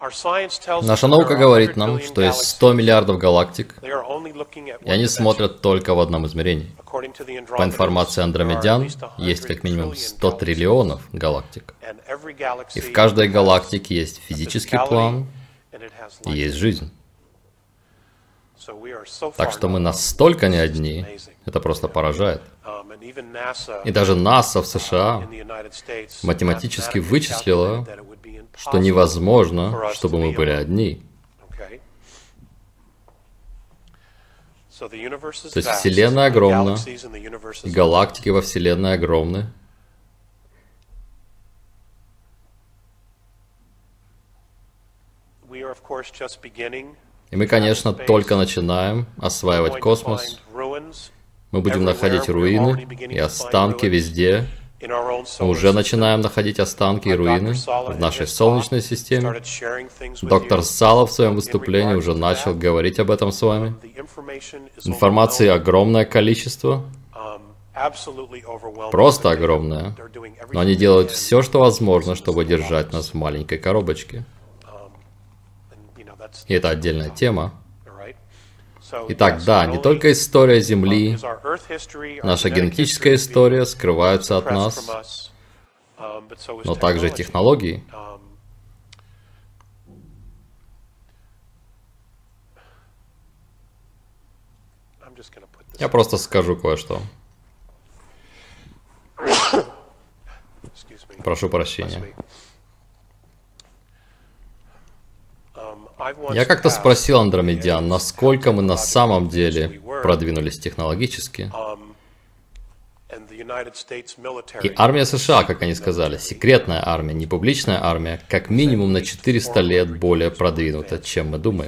Наша наука говорит нам, что есть 100 миллиардов галактик, и они смотрят только в одном измерении. По информации андромедян, есть как минимум 100 триллионов галактик. И в каждой галактике есть физический план и есть жизнь. Так что мы настолько не одни, это просто поражает. И даже НАСА в США математически вычислила, что невозможно, чтобы мы были одни. То есть Вселенная огромна, и галактики во Вселенной огромны. И мы, конечно, только начинаем осваивать космос. Мы будем находить руины и останки везде. Мы уже начинаем находить останки и руины в нашей Солнечной системе. Доктор Сало в своем выступлении уже начал говорить об этом с вами. Информации огромное количество. Просто огромное. Но они делают все, что возможно, чтобы держать нас в маленькой коробочке. И это отдельная тема. Итак, да, не только история Земли, наша генетическая история скрываются от нас, но также технологии. Я просто скажу кое-что. Прошу прощения. Я как-то спросил андромедян, насколько мы на самом деле продвинулись технологически. И армия США, как они сказали, секретная армия, не публичная армия, как минимум на 400 лет более продвинута, чем мы думаем.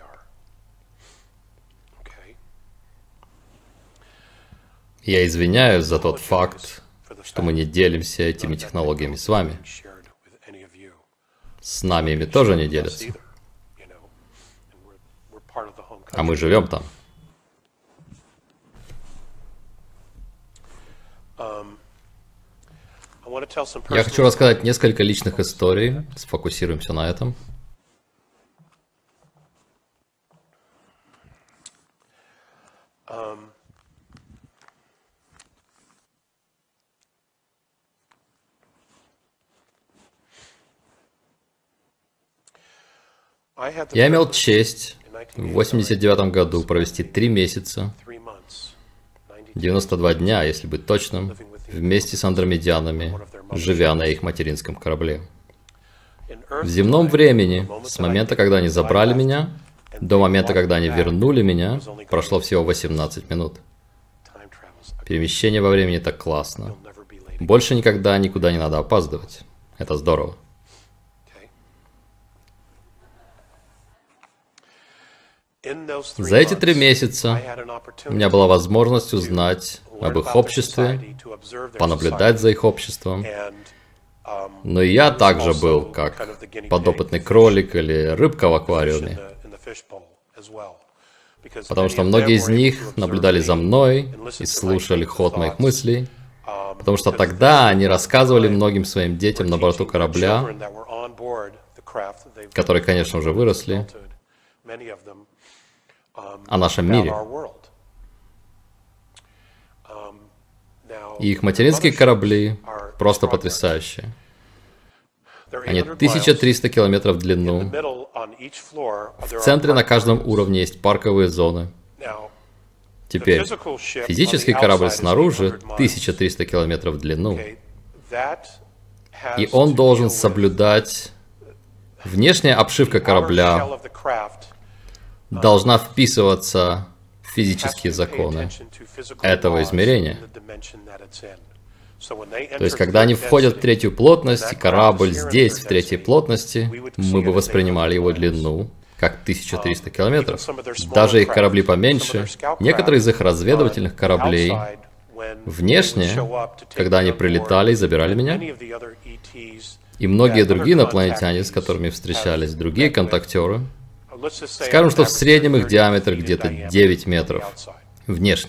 Я извиняюсь за тот факт, что мы не делимся этими технологиями с вами. С нами ими тоже не делятся. А мы живем там. Я хочу рассказать несколько личных историй. Сфокусируемся на этом. Я имел честь в 1989 году провести 3 месяца, 92 дня, если быть точным, вместе с андромедянами, живя на их материнском корабле. В земном времени, с момента, когда они забрали меня, до момента, когда они вернули меня, прошло всего 18 минут. Перемещение во времени так классно. Больше никогда никуда не надо опаздывать. Это здорово. За эти 3 месяца у меня была возможность узнать об их обществе, понаблюдать за их обществом. Но и я также был как подопытный кролик или рыбка в аквариуме. Потому что многие из них наблюдали за мной и слушали ход моих мыслей. Потому что тогда они рассказывали многим своим детям на борту корабля, которые, конечно, уже выросли, о нашем мире. И их материнские корабли просто потрясающие. Они 1300 километров в длину. В центре на каждом уровне есть парковые зоны. Теперь, физический корабль снаружи 1300 километров в длину. И он должен соблюдать... Внешняя обшивка корабля должна вписываться в физические законы этого измерения. То есть, когда они входят в 3-ю плотность, и корабль здесь, в 3-й плотности, мы бы воспринимали его длину как 1300 километров. Даже их корабли поменьше, некоторые из их разведывательных кораблей, внешне, когда они прилетали и забирали меня, и многие другие инопланетяне, с которыми встречались, другие контактеры, скажем, что в среднем их диаметр где-то 9 метров внешне.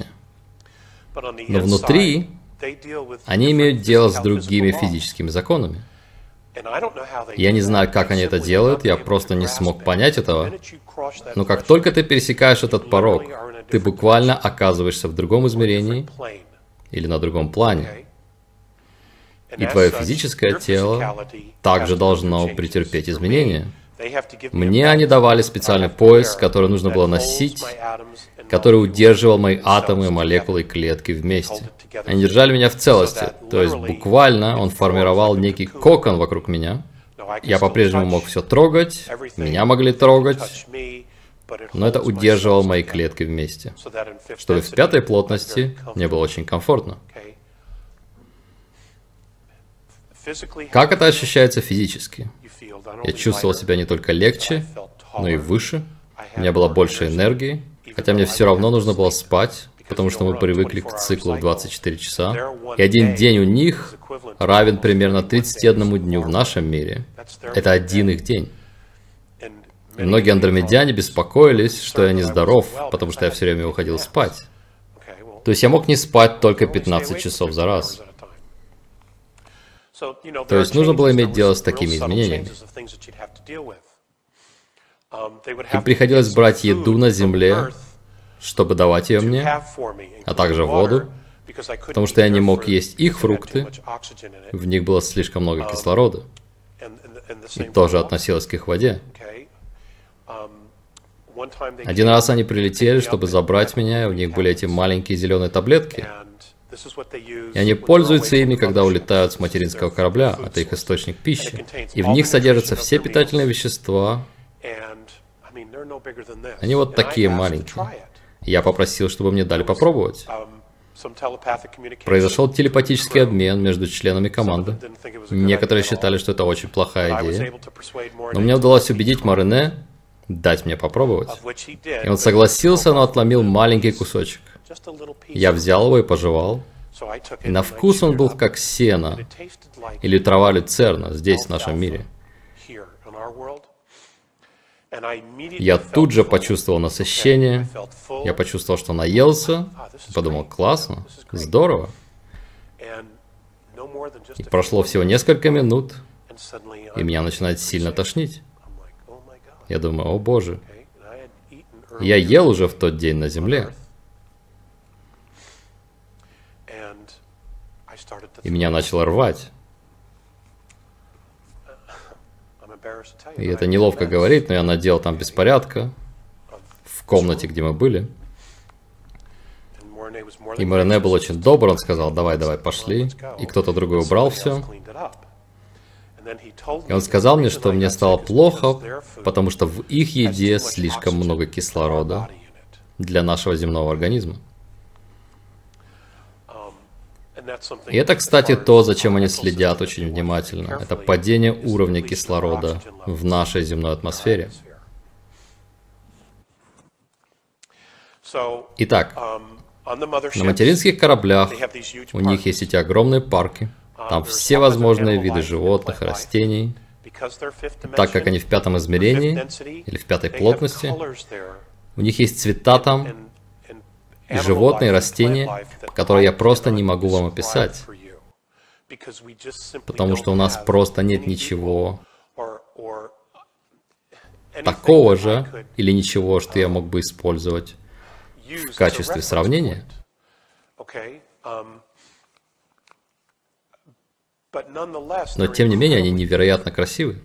Но внутри они имеют дело с другими физическими законами. Я не знаю, как они это делают, я просто не смог понять этого. Но как только ты пересекаешь этот порог, ты буквально оказываешься в другом измерении или на другом плане. И твое физическое тело также должно претерпеть изменения. Мне они давали специальный пояс, который нужно было носить, который удерживал мои атомы, молекулы и клетки вместе. Они держали меня в целости, то есть буквально он формировал некий кокон вокруг меня. Я по-прежнему мог все трогать, меня могли трогать, но это удерживало мои клетки вместе, чтобы в пятой плотности мне было очень комфортно. Как это ощущается физически? Я чувствовал себя не только легче, но и выше. У меня было больше энергии, хотя мне все равно нужно было спать, потому что мы привыкли к циклу в 24 часа. И один день у них равен примерно 31 дню в нашем мире. Это один их день. И многие андромедяне беспокоились, что я нездоров, потому что я все время уходил спать. То есть я мог не спать только 15 часов за раз. То есть нужно было иметь дело с такими изменениями. Им приходилось брать еду на земле, чтобы давать ее мне, а также воду, потому что я не мог есть их фрукты, в них было слишком много кислорода, и тоже относилось к их воде. Один раз они прилетели, чтобы забрать меня, и у них были эти маленькие зеленые таблетки, и они пользуются ими, когда улетают с материнского корабля, это их источник пищи, и в них содержатся все питательные вещества. Они вот такие маленькие. Я попросил, чтобы мне дали попробовать. Произошел телепатический обмен между членами команды. Некоторые считали, что это очень плохая идея. Но мне удалось убедить Морене дать мне попробовать. И он согласился, но отломил маленький кусочек. Я взял его и пожевал. И на вкус он был как сено или трава люцерна здесь, в нашем мире. Я тут же почувствовал насыщение, я почувствовал, что наелся, подумал, классно, здорово. И прошло всего несколько минут, и меня начинает сильно тошнить. Я думаю, о боже, я ел уже в тот день на земле. И меня начало рвать. И это неловко говорить, но я наделал там беспорядка в комнате, где мы были. И Морене был очень добр, он сказал, давай, пошли. И кто-то другой убрал все. И он сказал мне, что мне стало плохо, потому что в их еде слишком много кислорода для нашего земного организма. И это, кстати, то, зачем они следят очень внимательно. Это падение уровня кислорода в нашей земной атмосфере. Итак, на материнских кораблях у них есть эти огромные парки. Там все возможные виды животных и растений. Так как они в пятом измерении, или в пятой плотности, у них есть цвета там, и животные, и растения, которые я просто не могу вам описать. Потому что у нас просто нет ничего такого же, или ничего, что я мог бы использовать в качестве сравнения. Но тем не менее, они невероятно красивы.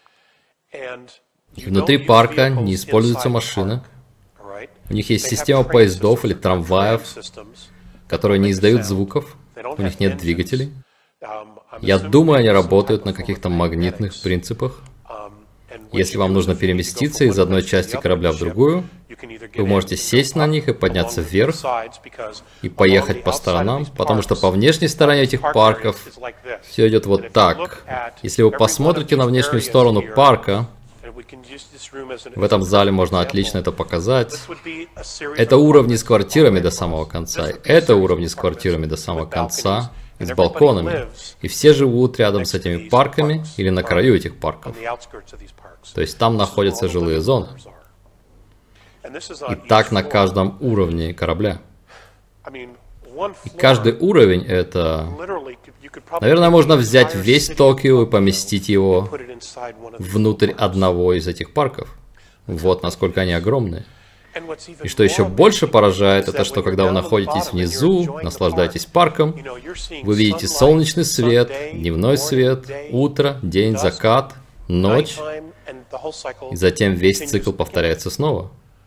И внутри парка не используются машины. У них есть система поездов или трамваев, которые не издают звуков, у них нет двигателей. Я думаю, они работают на каких-то магнитных принципах. Если вам нужно переместиться из одной части корабля в другую, вы можете сесть на них и подняться вверх, и поехать по сторонам, потому что по внешней стороне этих парков все идет вот так. Если вы посмотрите на внешнюю сторону парка, в этом зале можно отлично это показать. Это уровни с квартирами до самого конца. Это уровни с квартирами до самого конца и с балконами. И все живут рядом с этими парками или на краю этих парков. То есть там находятся жилые зоны. И так на каждом уровне корабля. И каждый уровень это... Наверное, можно взять весь Токио и поместить его внутрь одного из этих парков. Вот насколько они огромные. И что еще больше поражает, это что когда вы находитесь внизу, наслаждаетесь парком, вы видите солнечный свет, дневной свет, утро, день, закат, ночь, и затем весь цикл повторяется снова.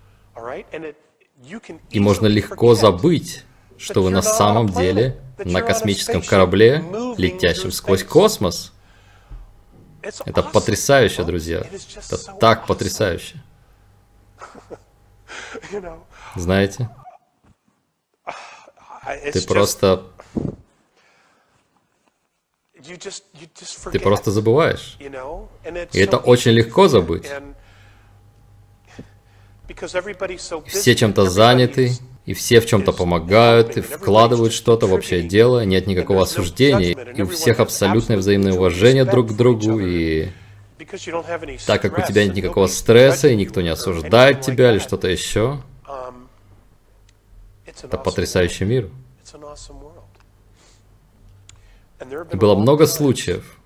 И можно легко забыть, что вы на самом деле на космическом корабле, летящем сквозь космос. Это потрясающе, друзья. Это так потрясающе. Знаете, ты просто забываешь. И это очень легко забыть. Все чем-то заняты, и все в чем-то помогают, и вкладывают что-то в общее дело, нет никакого осуждения, и у всех абсолютное взаимное уважение друг к другу, и так как у тебя нет никакого стресса, и никто не осуждает тебя или что-то еще, это потрясающий мир. И было много случаев,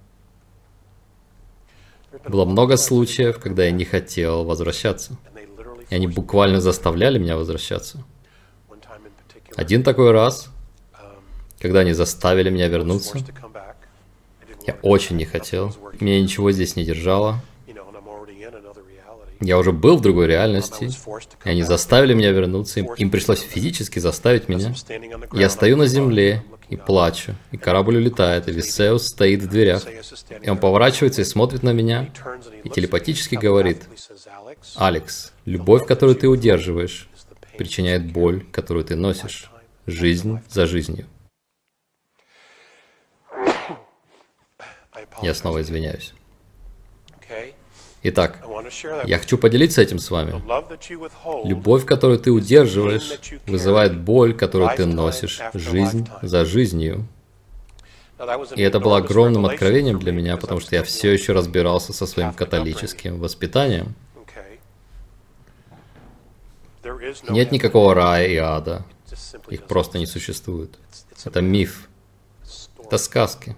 когда я не хотел возвращаться. И они буквально заставляли меня возвращаться. Один такой раз, когда они заставили меня вернуться, я очень не хотел. Меня ничего здесь не держало. Я уже был в другой реальности, и они заставили меня вернуться. Им пришлось физически заставить меня. Я стою на земле и плачу, и корабль улетает, и Висеус стоит в дверях. И он поворачивается и смотрит на меня, и телепатически говорит: «Алекс, любовь, которую ты удерживаешь, причиняет боль, которую ты носишь. Жизнь за жизнью». Я снова извиняюсь. Итак, я хочу поделиться этим с вами. Любовь, которую ты удерживаешь, вызывает боль, которую ты носишь, жизнь за жизнью. И это было огромным откровением для меня, потому что я все еще разбирался со своим католическим воспитанием. Нет никакого рая и ада. Их просто не существует. Это миф. Это сказки.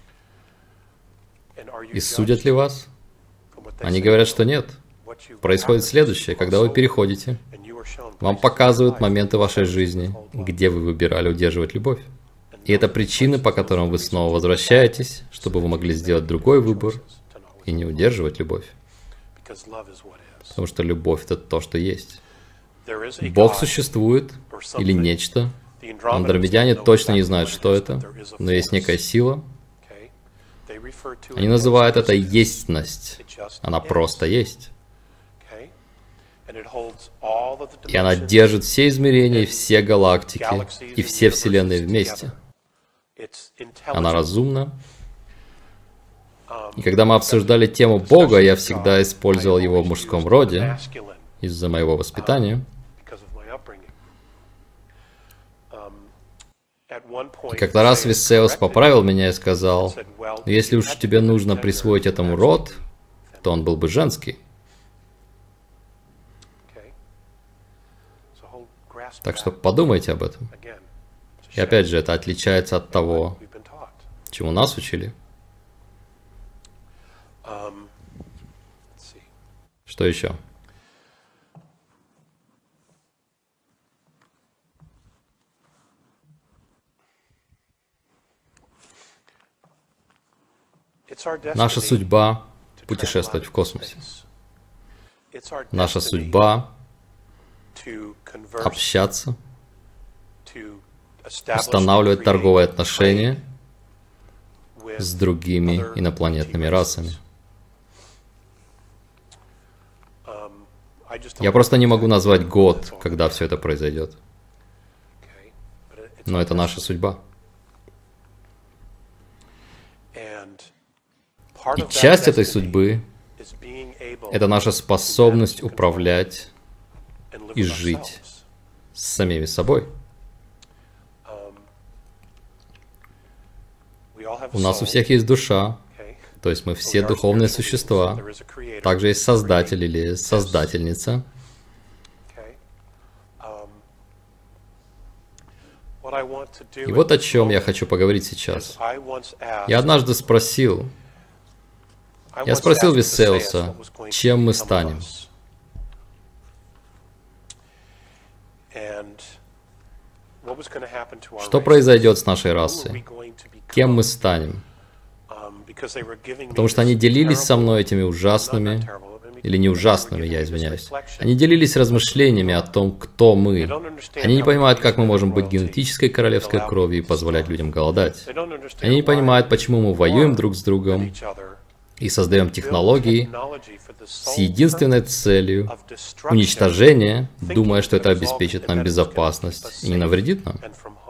И судят ли вас? Они говорят, что нет. Происходит следующее. Когда вы переходите, вам показывают моменты вашей жизни, где вы выбирали удерживать любовь. И это причины, по которым вы снова возвращаетесь, чтобы вы могли сделать другой выбор и не удерживать любовь. Потому что любовь — это то, что есть. Бог существует или нечто. Андромедяне точно не знают, что это, но есть некая сила. Они называют это естьность. Она просто есть. И она держит все измерения, все галактики и все вселенные вместе. Она разумна. И когда мы обсуждали тему Бога, я всегда использовал его в мужском роде из-за моего воспитания. И как-то раз Висеус поправил меня и сказал: если уж тебе нужно присвоить этому род, то он был бы женский. Так что подумайте об этом. И опять же, это отличается от того, чему нас учили. Что еще? Наша судьба — путешествовать в космосе. Наша судьба — общаться, устанавливать торговые отношения с другими инопланетными расами. Я просто не могу назвать год, когда все это произойдет. Но это наша судьба. И часть этой судьбы — это наша способность управлять и жить с самими собой. У нас у всех есть душа, то есть мы все духовные существа. Также есть Создатель или Создательница. И вот о чем я хочу поговорить сейчас. Я однажды спросил Висеуса, чем мы станем. Что произойдет с нашей расой? Кем мы станем? Потому что они делились со мной этими ужасными, или не ужасными, я извиняюсь. Они делились размышлениями о том, кто мы. Они не понимают, как мы можем быть генетической королевской кровью и позволять людям голодать. Они не понимают, почему мы воюем друг с другом и создаем технологии с единственной целью уничтожения, думая, что это обеспечит нам безопасность и не навредит нам.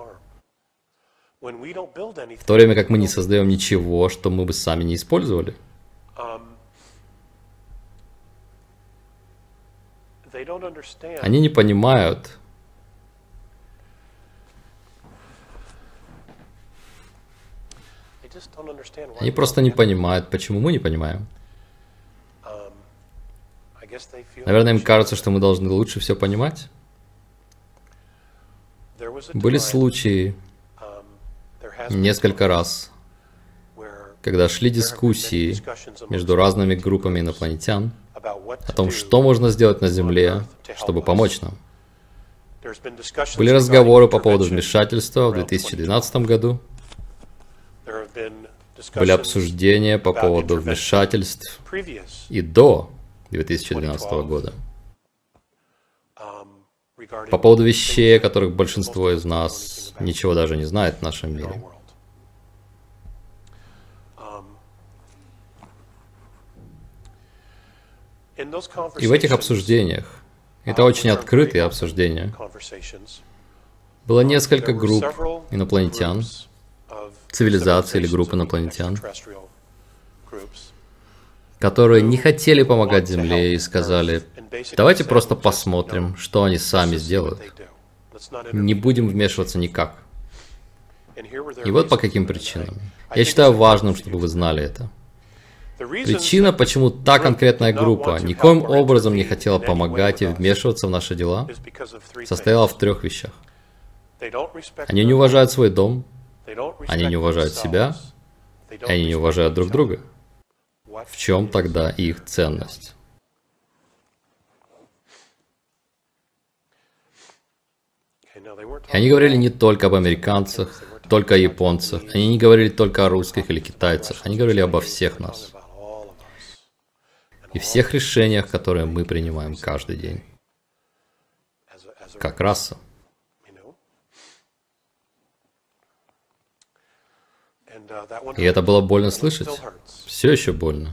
В то время как мы не создаем ничего, что мы бы сами не использовали. Они не понимают, они просто не понимают, почему мы не понимаем. Наверное, им кажется, что мы должны лучше все понимать. Были случаи, несколько раз, когда шли дискуссии между разными группами инопланетян о том, что можно сделать на Земле, чтобы помочь нам. Были разговоры по поводу вмешательства в 2012 году. Были обсуждения по поводу вмешательств и до 2012 года. По поводу вещей, о которых большинство из нас ничего даже не знает в нашем мире. И в этих обсуждениях, это очень открытые обсуждения, было несколько групп инопланетян, цивилизаций или групп инопланетян, которые не хотели помогать Земле и сказали, давайте просто посмотрим, что они сами сделают. Не будем вмешиваться никак. И вот по каким причинам. Я считаю важным, чтобы вы знали это. Причина, почему та конкретная группа никоим образом не хотела помогать и вмешиваться в наши дела, состояла в 3 вещах. Они не уважают свой дом, они не уважают себя, и они не уважают друг друга. В чем тогда их ценность? И они говорили не только об американцах, только о японцах, они не говорили только о русских или китайцах, они говорили обо всех нас. И всех решениях, которые мы принимаем каждый день. Как раса. И это было больно слышать. Все еще больно.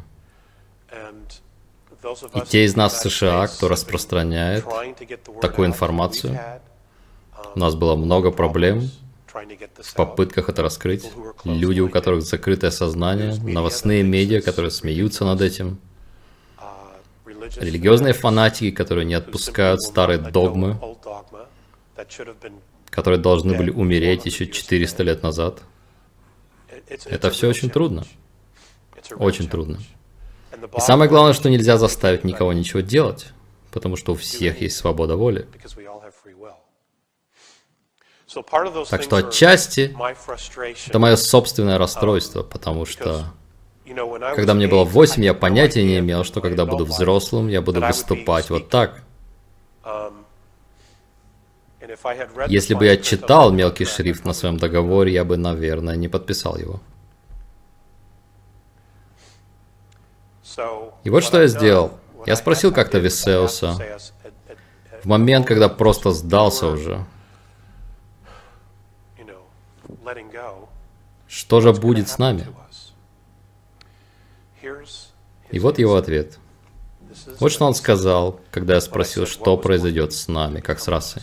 И те из нас в США, кто распространяет такую информацию, у нас было много проблем в попытках это раскрыть. Люди, у которых закрытое сознание, новостные медиа, которые смеются над этим, религиозные фанатики, которые не отпускают старые догмы, которые должны были умереть еще 400 лет назад. Это все очень трудно. Очень трудно. И самое главное, что нельзя заставить никого ничего делать, потому что у всех есть свобода воли. Так что отчасти это мое собственное расстройство, потому что когда мне было 8, я понятия не имел, что когда буду взрослым, я буду выступать вот так. Если бы я читал мелкий шрифт на своем договоре, я бы, наверное, не подписал его. И вот что я сделал. Я спросил как-то Висеуса, в момент, когда просто сдался уже, что же будет с нами? И вот его ответ. Вот что он сказал, когда я спросил, что произойдет с нами, как с расой.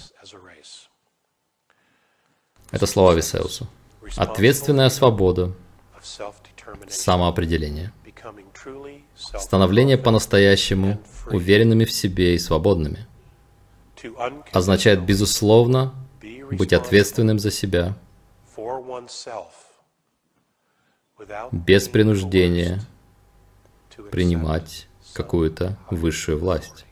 Это слова Висеуса. Ответственная свобода, самоопределение, становление по-настоящему уверенными в себе и свободными, означает, безусловно, быть ответственным за себя, без принуждения принимать какую-то высшую власть.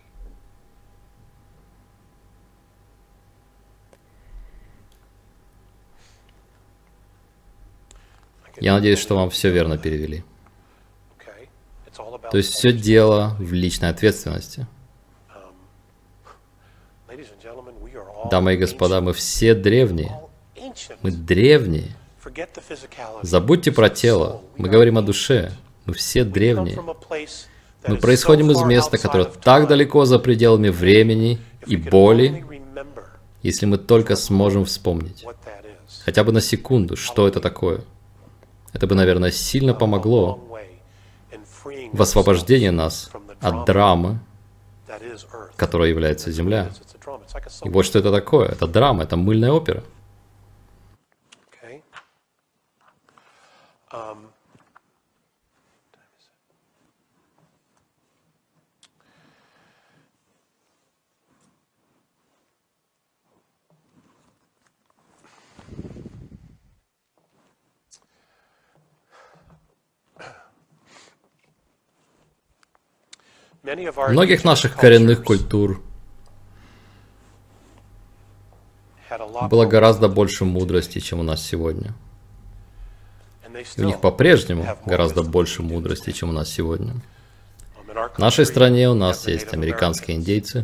Я надеюсь, что вам все верно перевели. То есть все дело в личной ответственности. Дамы и господа, мы все древние. Мы древние. Забудьте про тело. Мы говорим о душе. Мы все древние. Мы происходим из места, которое так далеко за пределами времени и боли, если мы только сможем вспомнить. Хотя бы на секунду, что это такое. Это бы, наверное, сильно помогло в освобождении нас от драмы, которая является Земля. И вот что это такое. Это драма, это мыльная опера. Многих наших коренных культур было гораздо больше мудрости, чем у нас сегодня. И у них по-прежнему гораздо больше мудрости, чем у нас сегодня. В нашей стране у нас есть американские индейцы.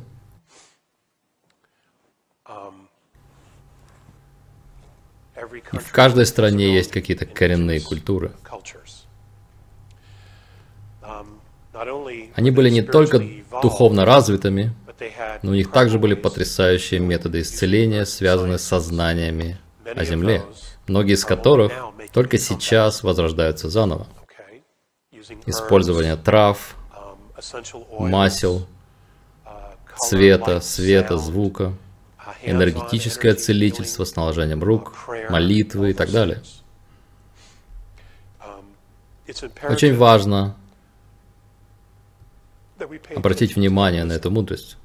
И в каждой стране есть какие-то коренные культуры. Они были не только духовно развитыми, но у них также были потрясающие методы исцеления, связанные с сознаниями о Земле, многие из которых только сейчас возрождаются заново. Использование трав, масел, цвета, света, звука, энергетическое целительство с наложением рук, молитвы и так далее. Очень важно обратить внимание на эту мудрость.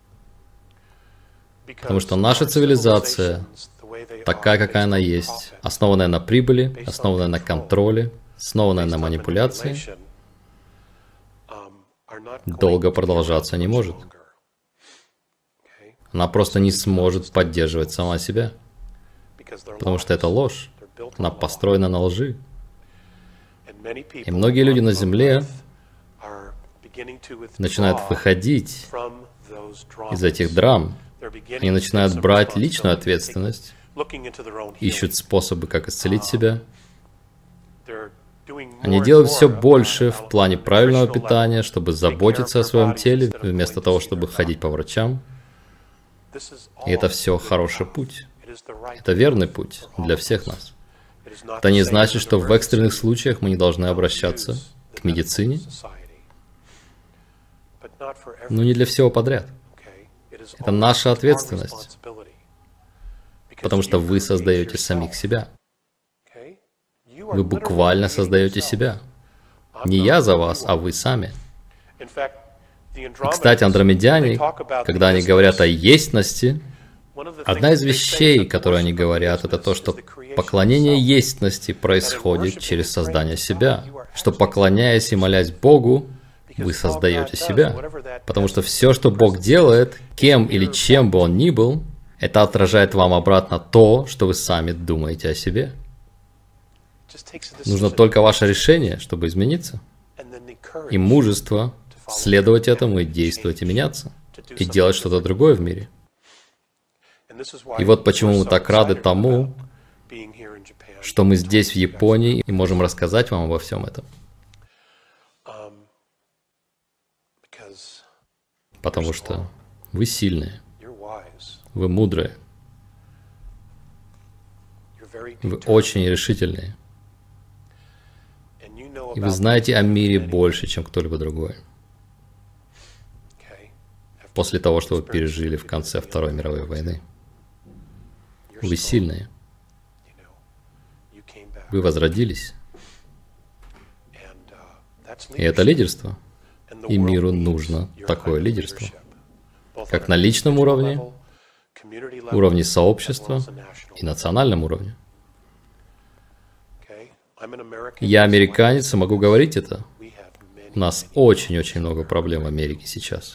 Потому что наша цивилизация, такая, какая она есть, основанная на прибыли, основанная на контроле, основанная на манипуляции, долго продолжаться не может. Она просто не сможет поддерживать сама себя. Потому что это ложь. Она построена на лжи. И многие люди на Земле начинают выходить из этих драм. Они начинают брать личную ответственность, ищут способы, как исцелить себя. Они делают все больше в плане правильного питания, чтобы заботиться о своем теле, вместо того, чтобы ходить по врачам. И это все хороший путь. Это верный путь для всех нас. Это не значит, что в экстренных случаях мы не должны обращаться к медицине, но не для всего подряд. Это наша ответственность, потому что вы создаете самих себя. Вы буквально создаете себя. Не я за вас, а вы сами. И, кстати, андромедяне, когда они говорят о естности, одна из вещей, которые они говорят, это то, что поклонение естности происходит через создание себя. Что, поклоняясь и молясь Богу, вы создаете себя. Потому что все, что Бог делает, кем или чем бы Он ни был, это отражает вам обратно то, что вы сами думаете о себе. Нужно только ваше решение, чтобы измениться. И мужество следовать этому и действовать и меняться. И делать что-то другое в мире. И вот почему мы так рады тому, что мы здесь, в Японии, и можем рассказать вам обо всем этом. Потому что вы сильные, вы мудрые, вы очень решительные. И вы знаете о мире больше, чем кто-либо другой. После того, что вы пережили в конце Второй мировой войны. Вы сильные. Вы возродились. И это лидерство. И миру нужно такое лидерство. Как на личном уровне, уровне сообщества и национальном уровне. Я американец и могу говорить это. У нас очень-очень много проблем в Америке сейчас.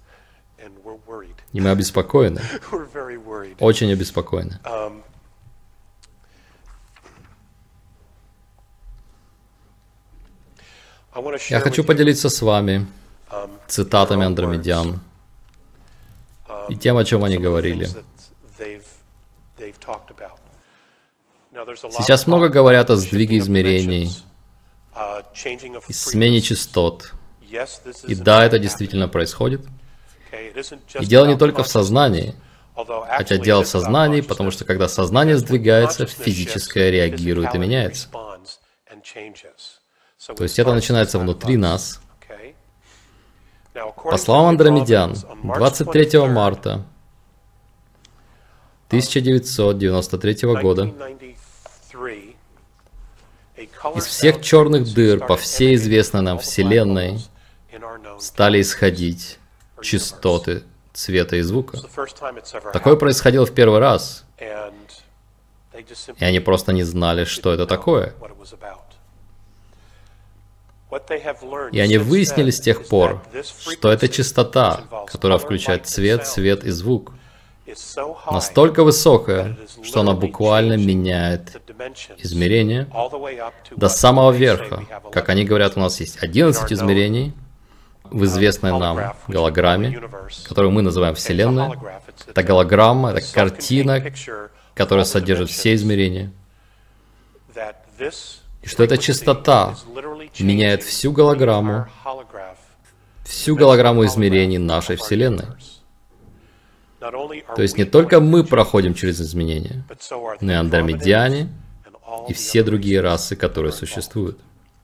И мы обеспокоены. Очень обеспокоены. Я хочу поделиться с вами цитатами андромедян и тем, о чем они говорили. Сейчас много говорят о сдвиге измерений и смене частот. И да, это действительно происходит. И дело не только в сознании, хотя дело в сознании, потому что когда сознание сдвигается, физическое реагирует и меняется. То есть это начинается внутри нас. По словам андромедян, 23 марта 1993 года из всех черных дыр по всей известной нам Вселенной стали исходить частоты цвета и звука. Такое происходило в первый раз, и они просто не знали, что это такое. И они выяснили с тех пор, что это частота, которая включает цвет, свет и звук, настолько высокая, что она буквально меняет измерения до самого верха. Как они говорят, у нас есть 11 измерений в известной нам голограмме, которую мы называем Вселенной. Это голограмма, это картина, которая содержит все измерения. И что эта частота меняет всю голограмму измерений нашей Вселенной. То есть не только мы проходим через изменения, но и андромедяне и все другие расы, которые существуют.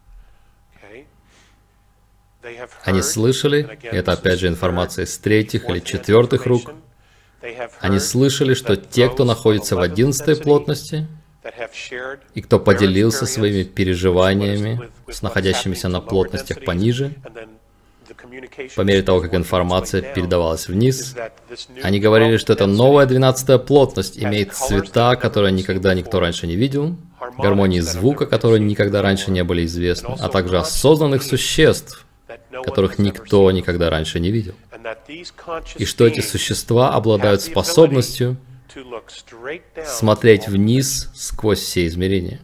Они слышали, и это опять же информация из третьих или четвертых рук, они слышали, что те, кто находится в 11-й плотности, и кто поделился своими переживаниями с находящимися на плотностях пониже, по мере того, как информация передавалась вниз, они говорили, что эта новая 12-я плотность имеет цвета, которые никогда никто раньше не видел, гармонии звука, которые никогда раньше не были известны, а также осознанных существ, которых никто никогда раньше не видел. И что эти существа обладают способностью смотреть вниз сквозь все измерения.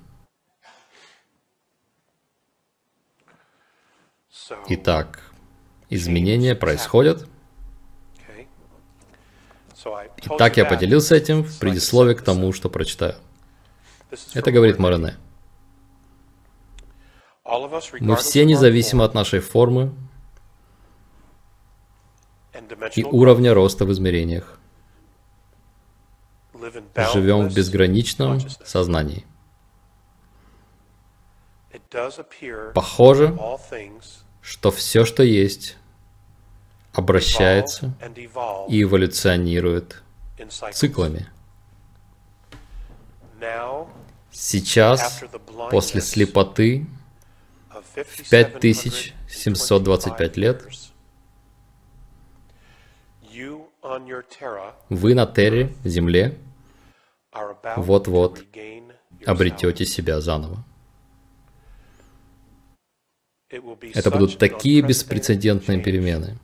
Итак, изменения происходят. Итак, я поделился этим в предисловии к тому, что прочитаю. Это говорит Морене. Мы все независимо от нашей формы и уровня роста в измерениях. Живем в безграничном сознании. Похоже, что все, что есть, обращается и эволюционирует циклами. Сейчас, после слепоты, в 5725 лет, вы на Терре, Земле, вот-вот обретете себя заново. Это будут такие беспрецедентные перемены,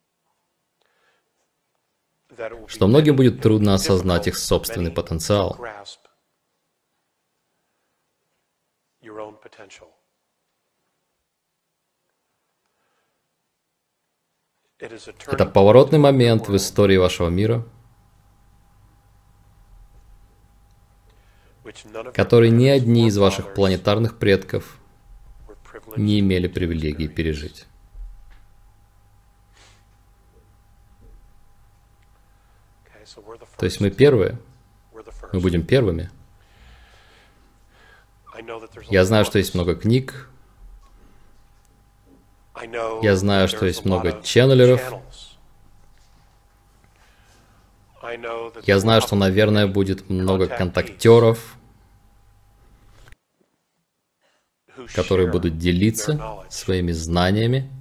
что многим будет трудно осознать их собственный потенциал. Это поворотный момент в истории вашего мира, который ни одни из ваших планетарных предков не имели привилегии пережить. То есть мы первые, мы будем первыми. Я знаю, что есть много книг, я знаю, что есть много ченнелеров, я знаю, что, наверное, будет много контактеров, которые будут делиться своими знаниями.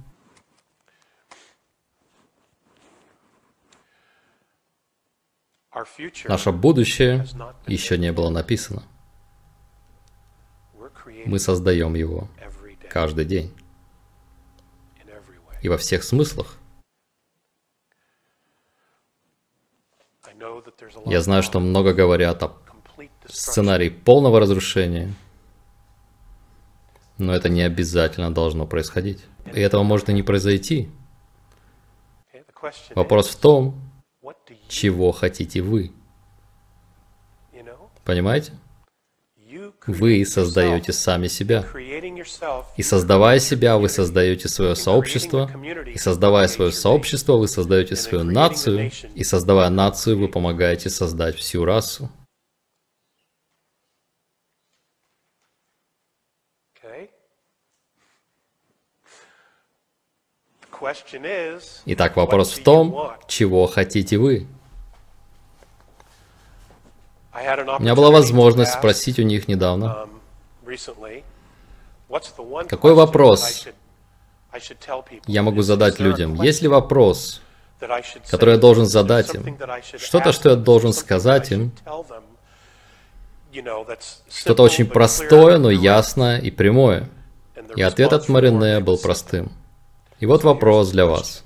Наше будущее еще не было написано. Мы создаем его каждый день. И во всех смыслах. Я знаю, что много говорят о сценарии полного разрушения. Но это не обязательно должно происходить. И этого может и не произойти. Вопрос в том, чего хотите вы. Понимаете? Вы создаете сами себя. И создавая себя, вы создаете свое сообщество. И создавая свое сообщество, вы создаете свою нацию. И создавая нацию, вы помогаете создать всю расу. Итак, вопрос в том, чего хотите вы. У меня была возможность спросить у них недавно, какой вопрос я могу задать людям? Есть ли вопрос, который я должен задать им? Что-то, что я должен сказать им? Что-то очень простое, но ясное и прямое. И ответ от Марине был простым. И вот вопрос для вас.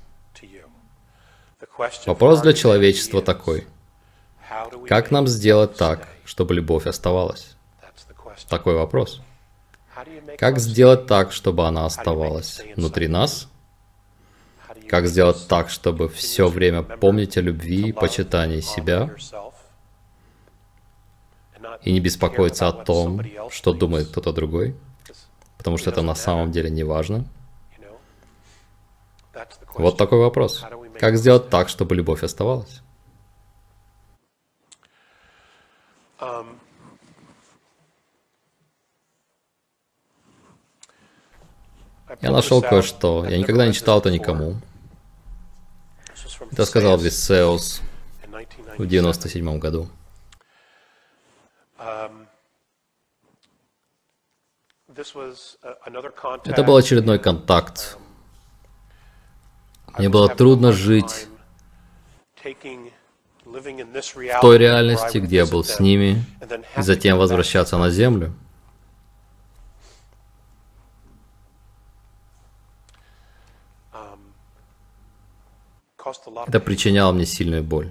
Вопрос для человечества такой. Как нам сделать так, чтобы любовь оставалась? Такой вопрос. Как сделать так, чтобы она оставалась внутри нас? Как сделать так, чтобы все время помнить о любви и почитании себя? И не беспокоиться о том, что думает кто-то другой? Потому что это на самом деле не важно. Вот такой вопрос. Как сделать так, чтобы любовь оставалась? Я нашел кое-что. Я никогда не читал это никому. Это сказал Висеус в 1997 году. Это был очередной контакт. Мне было трудно жить в той реальности, где я был с ними, и затем возвращаться на Землю. Это причиняло мне сильную боль.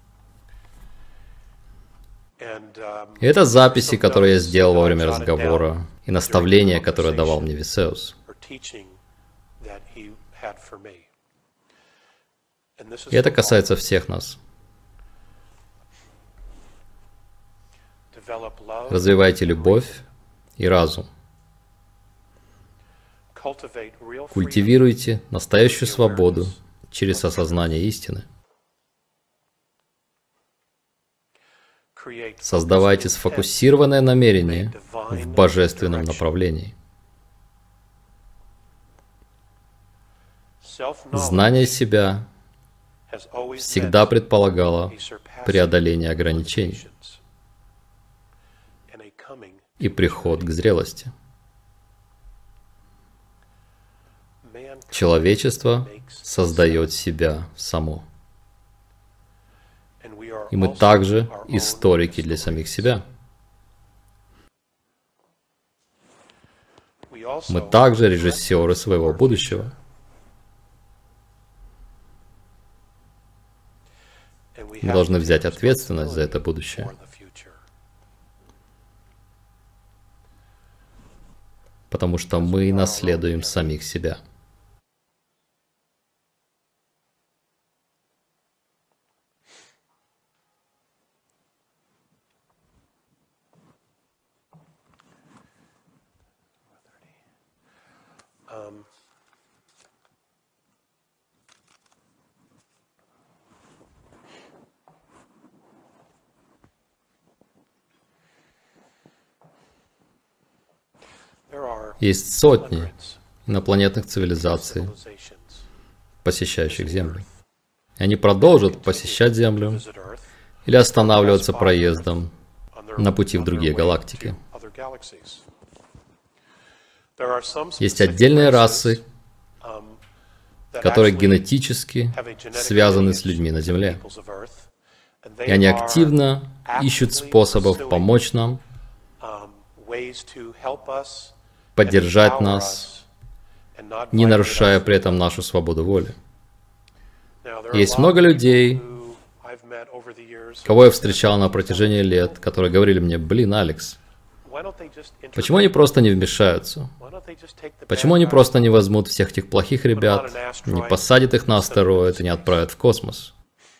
И это записи, которые я сделал во время разговора, и наставления, которые давал мне Висеус. И это касается всех нас. Развивайте любовь и разум. Культивируйте настоящую свободу через осознание истины. Создавайте сфокусированное намерение в божественном направлении. Знание себя всегда предполагало преодоление ограничений и приход к зрелости. Человечество создает себя само. И мы также историки для самих себя. Мы также режиссеры своего будущего. Мы должны взять ответственность за это будущее. Потому что мы наследуем самих себя. Есть сотни инопланетных цивилизаций, посещающих Землю. И они продолжат посещать Землю или останавливаться проездом на пути в другие галактики. Есть отдельные расы, которые генетически связаны с людьми на Земле. И они активно ищут способов помочь нам, поддержать нас, не нарушая при этом нашу свободу воли. Есть много людей, кого я встречал на протяжении лет, которые говорили мне: «Блин, Алекс, Почему они просто не вмешаются? Почему они просто не возьмут всех этих плохих ребят, не посадят их на астероид и не отправят в космос?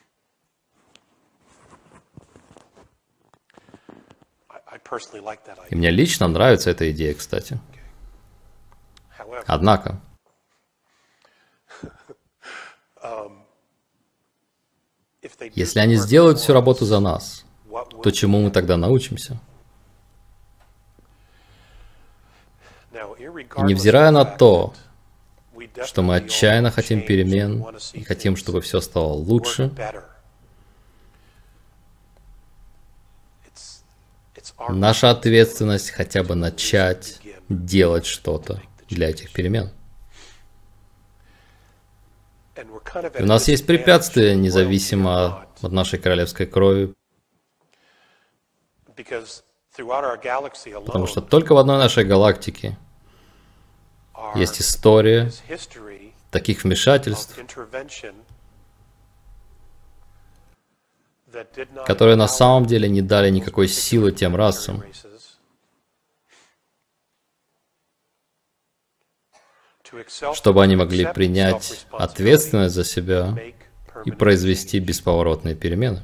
И мне лично нравится эта идея, кстати. Однако, если они сделают всю работу за нас, то чему мы тогда научимся? И невзирая на то, что мы отчаянно хотим перемен и хотим, чтобы все стало лучше, наша ответственность хотя бы начать делать что-то для этих перемен. И у нас есть препятствия, независимо от нашей королевской крови, потому что только в одной нашей галактике есть история таких вмешательств, которые на самом деле не дали никакой силы тем расам, чтобы они могли принять ответственность за себя и произвести бесповоротные перемены.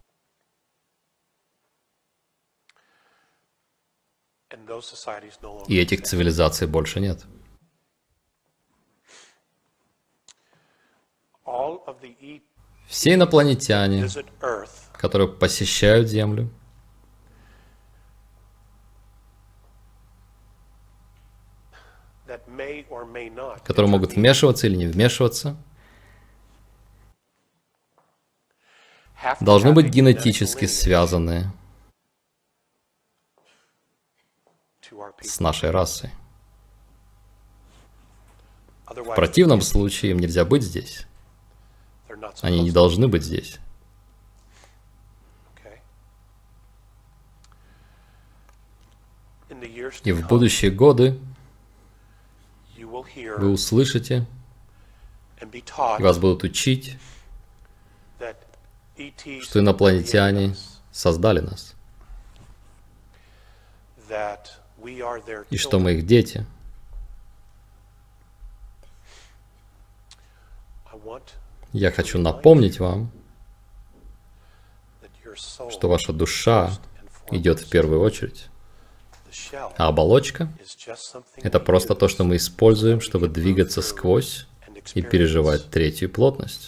И этих цивилизаций больше нет. Все инопланетяне, которые посещают Землю, которые могут вмешиваться или не вмешиваться, должны быть генетически связаны с нашей расой. В противном случае им нельзя быть здесь. Они не должны быть здесь. И в будущие годы вы услышите, вас будут учить, что инопланетяне создали нас, и что мы их дети. Я хочу напомнить вам, что ваша душа идет в первую очередь, а оболочка — это просто то, что мы используем, чтобы двигаться сквозь и переживать третью плотность.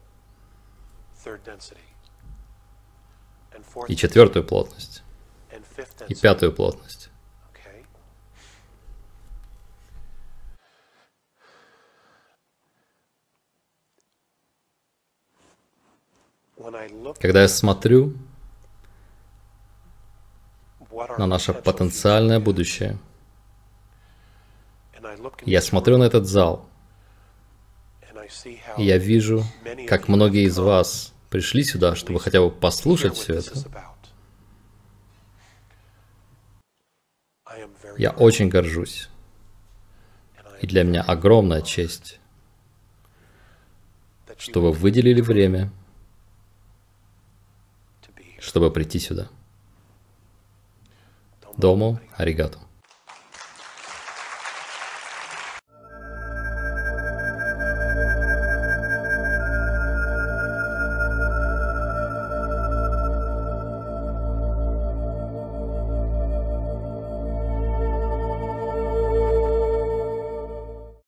И четвертую плотность. И пятую плотность. Когда я смотрю на наше потенциальное будущее, я смотрю на этот зал, и я вижу, как многие из вас пришли сюда, чтобы хотя бы послушать все это. Я очень горжусь. И для меня огромная честь, что вы выделили время, чтобы прийти сюда. Дому аригато.